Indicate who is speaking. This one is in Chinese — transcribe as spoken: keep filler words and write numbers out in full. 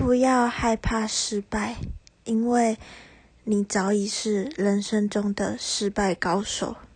Speaker 1: 不要害怕失败，因为你早已是人生中的失败高手。